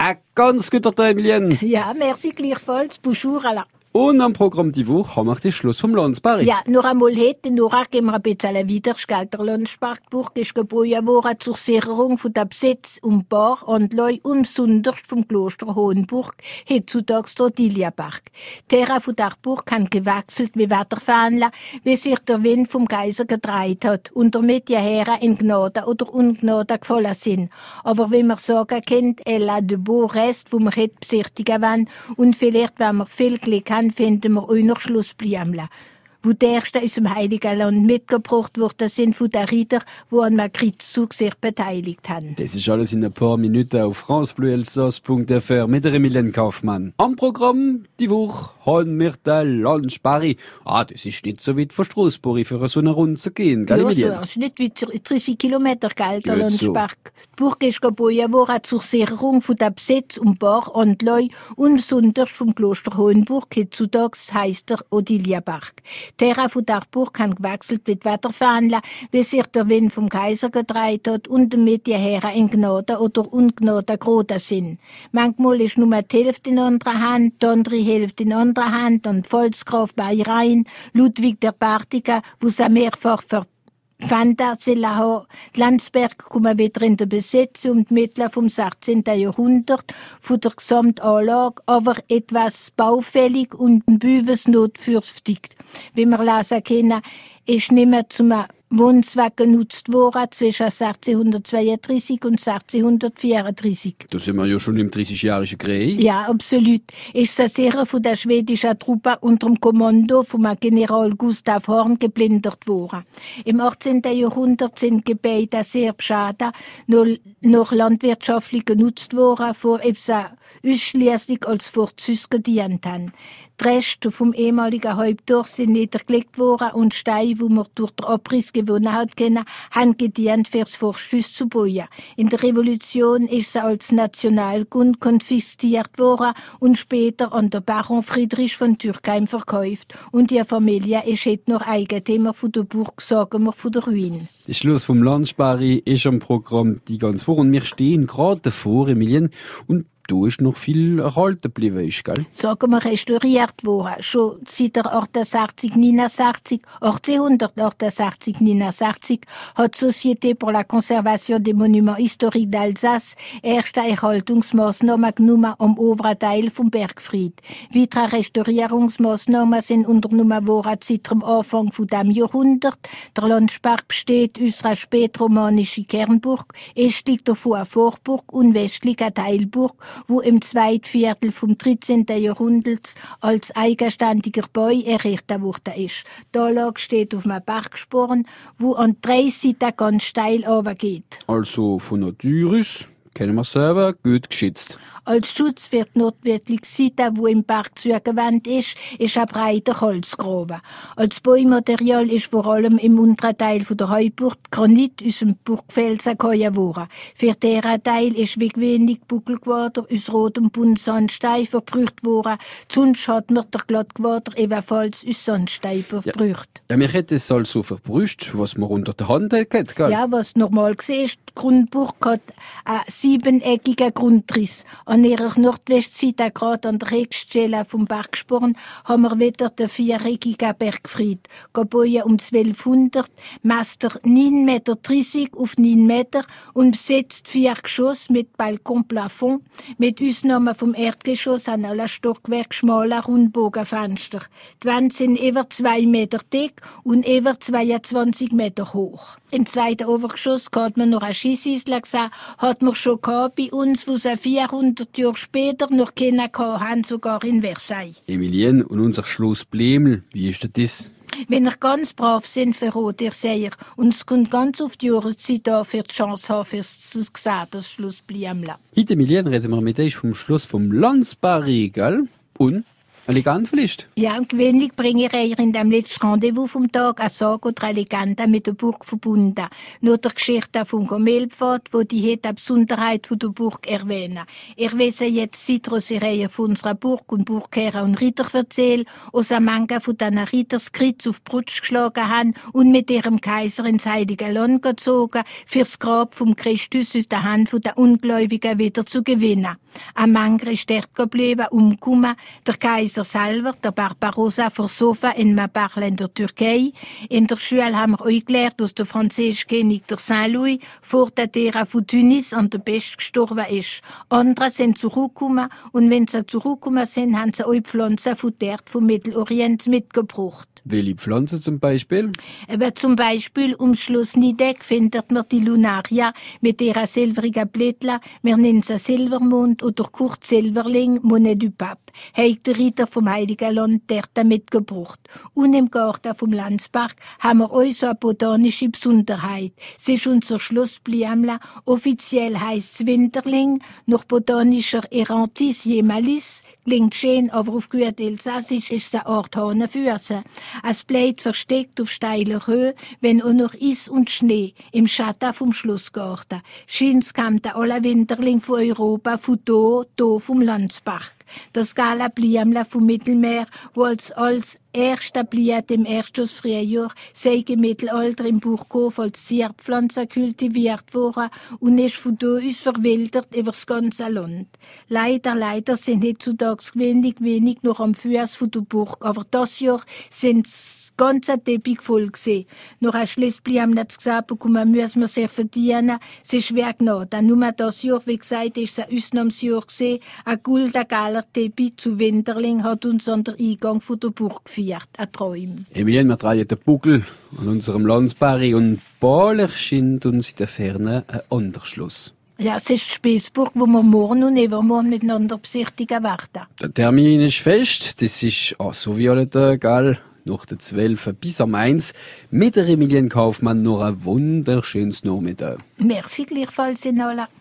Ein ganz guter Tag, Emilien. Ja, merci gleichfalls. Bonjour, Alain. Und am Programm die Woche haben wir den Schluss vom Landsberg. Ja, noch einmal heute, noch geben wir ein bisschen Widerstand. Der Landsbergburg ist gebaut worden zur Sicherung von der Besitz und Bar und Leu und besonders vom Kloster Hohenburg, heutzutage der Diliapark. Die Terra von der Burg kann gewechselt wie Wetterfähnle, wie sich der Wind vom Kaiser gedreht hat und damit die Herren in Gnade oder Ungnade gefallen sind. Aber wie man sagen kann, elle a de beaux Reste, wo wir heute besichtigen wollen und vielleicht, wenn wir viel Glück haben, finden wir auch noch Schlussblümchen, wo die ersten aus dem Heiligen Land mitgebracht worden sind von den Rittern, die an einem Kreuzzug sich beteiligt haben. Das ist alles in ein paar Minuten auf francebleuelsass.fr mit der Emilien Kaufmann. Am Programm die Woche haben wir den Landsberg. Das ist nicht so weit von Strassburg für so eine Runde zu gehen, gell, Ja, so, Emilien? das ist nicht wie 30 Kilometer, gell, der Gut so. Landsberg. Die Burg ist gebaut worden zur Sicherung von der Besitz und Bar und Leu und besonders vom Kloster Hohenburg, heutzutage heisst der Odiliapark. Die Terra von der Burg kann gewechselt mit Wetterfähnle, wie sich der Wind vom Kaiser gedreht hat und damit die Herren in Gnade oder Ungnade geraten sind. Manchmal ist nur die Hälfte in anderer Hand, die andere Hälfte in anderer Hand und Volksgraf Bayrein, Ludwig der Bärtige, wo sie mehrfach die Landsberg kommen wieder in der Besitz und Mittel vom 16. Jahrhundert von der Gesamtanlage, aber etwas baufällig und ein Büwes notdürftig. Wie wir lesen können, ist nicht mehr zum Wohnzweck genutzt worden zwischen 1632 und 1634. Da sind wir ja schon im 30-jährigen Krieg. Ja, absolut. Ist es sicher von der schwedischen Truppe unter dem Kommando vom General Gustav Horn geplündert worden. Im 18. Jahrhundert sind Gebäude sehr beschadet, noch landwirtschaftlich genutzt worden, vor ausschließlich als Vorzüge gedient haben. Die Reste vom ehemaligen Haupttor sind niedergelegt worden und Steine, die man durch den Abriss gewonnen hat, haben gedient, fürs Forsthaus zu bauen. In der Revolution ist sie als Nationalgut konfisziert worden und später an den Baron Friedrich von Türkheim verkauft. Und die Familie ist heute noch Eigentümer von der Burg, sagen wir, von der Ruine. Der Schluss vom Landsberg ist am Programm die ganze Woche und wir stehen gerade davor, Emilien, und da ist noch viel erhalten geblieben, ist, gell? Sagen wir, restauriert worden. Schon seit der 1868, 69 hat die Société pour la Conservation des Monuments Historiques d'Alsace erste Erhaltungsmaßnahmen genommen am oberen Teil vom Bergfried. Weitere Restaurierungsmaßnahmen sind unternommen worden seit dem Anfang von diesem Jahrhundert. Der Landsberg besteht aus einer spätromanischen Kernburg, östlich davon eine Vorburg und westlich eine Teilburg, wo im zweiten Viertel vom 13. Jahrhunderts als eigenständiger Bau errichtet worden ist. Die Anlage steht auf einem Bergsporn, wo an 3 Seiten ganz steil runtergeht. Also von Natur aus kennen wir selber gut geschützt. Als Schutz für die nordwestliche Seite, wo im Berg zugewandt ist ein breiter Holzgraben. Als Baumaterial ist vor allem im unteren Teil der Heuburg Granit aus dem Burgfelsen gehauen worden. Für diesen Teil ist wie wenig Buckelquader aus rotem Buntsandstein verbraucht worden. Sonst hat man der Glattquader ebenfalls aus Sandstein verbraucht. Ja, mir hätte es also verbrüscht, was man unter der Hand hat, gell? Ja, was normal gesehen ist, die Grundburg hat einen 7-eckigen Grundriss. An ihrer Nordwestseite, gerade an der Höchststelle vom Bergsporn, haben wir wieder den 4-eckigen Bergfried. Gebaut um 1200, messt er 9,30 Meter auf 9 Meter und besitzt 4 Geschosse mit Balkonplafond. Mit Ausnahme vom Erdgeschoss haben alle Stockwerke schmale Rundbogenfenster. Die Wände sind über 2 Meter dick und über 22 Meter hoch. Im zweiten Obergeschoss hat man noch eine Schießinsel gesehen, hat man schon gehabt bei uns, wo sie 400 Jahre später noch kennen haben, sogar in Versailles. Emilien, und unser Schloss Blemel, wie ist das? Wenn ihr ganz brav sind, verrät ihr sehr. Und es kommt ganz auf die Jahreszeit an, für die Chance haben, fürs zu sehen, das Schloss Blemel. Heute, Emilien, reden wir mit euch vom Schluss vom Landsberg, gell? Und Elegant vielleicht? Ja, und gewöhnlich bringe ich in dem letzten Rendezvous vom Tag eine Sage oder eine Legende mit der Burg verbunden. Nur der Geschichte vom Gomelpfad, wo die hat eine Besonderheit von der Burg erwähnen. Ich weiß jetzt Citrus-Reihe von unserer Burg und Burgherren und Ritter erzählen, aus einem Manga von diesen Ritterskritz auf die Brust geschlagen haben und mit ihrem Kaiser ins Heilige Land gezogen, fürs Grab vom Christus aus der Hand der Ungläubigen wieder zu gewinnen. Ein Manga ist dort geblieben, umgekommen, der Kaiser selber, der Barbarossa, versoffen in Mabarl in der Türkei. In der Schule haben wir euch gelernt, dass der französische König der Saint-Louis vor der Terra von Tunis an der Pest gestorben ist. Andere sind zurückgekommen und wenn sie zurückgekommen sind, haben sie euch Pflanzen von dort vom Mittelorient mitgebracht. Welche Pflanze zum Beispiel? Aber zum Beispiel um Schloss Nideck findet man die Lunaria mit ihrer silbrigen Blättler. Wir nennen sie Silbermond oder Kurt Silberling, Monnaie du Pape. Hat der Ritter vom Heiligen Land dort mitgebracht. Und im Garten vom Landspark haben wir auch so eine botanische Besonderheit. Es ist unser Schloss Bliamla. Offiziell heisst es Winterling, nach botanischer Erantis Jemalis. Klingt schön, aber auf gut Elsassisch ist es eine Art Hahnenfüße. Es bleibt versteckt auf steiler Höhe, wenn auch noch Eis und Schnee im Schatten vom Schlossgarten. Scheint's kam der aller Winterling von Europa, von da vom Landspark. Das Gala Bliamla vom Mittelmeer, wo als erster Bliat im ersten Frühjahr sei im Mittelalter im Burghof als Zierpflanze kultiviert worden und ist von da aus verwildert über das ganze Land. Leider sind heutzutage wenig noch am Fuß von der Burg, aber das Jahr sind das ganze Teppich voll gewesen. Noch ein Schließbliamla zu gesagt bekommen, müssen wir sehr verdienen. Es ist schwer genau. Dann nur das Jahr, wie gesagt, ist es ein Ausnahmsjahr gewesen. Ein goldener Teppich zu Winterling hat uns an der Eingang von der Burg geführt. Ein Traum. Emilien, wir drehen den Buckel an unserem Landsberg und bald erscheint uns in der Ferne ein anderer Schloss. Ja, es ist die Spießburg, wo wir morgen und übermorgen miteinander besichtigen werden. Der Termin ist fest, das ist so wie alle Tage, gell? Nach der 12 bis am 1 mit der Emilien Kaufmann noch ein wunderschönes Nachmittag. Merci gleichfalls, Inola.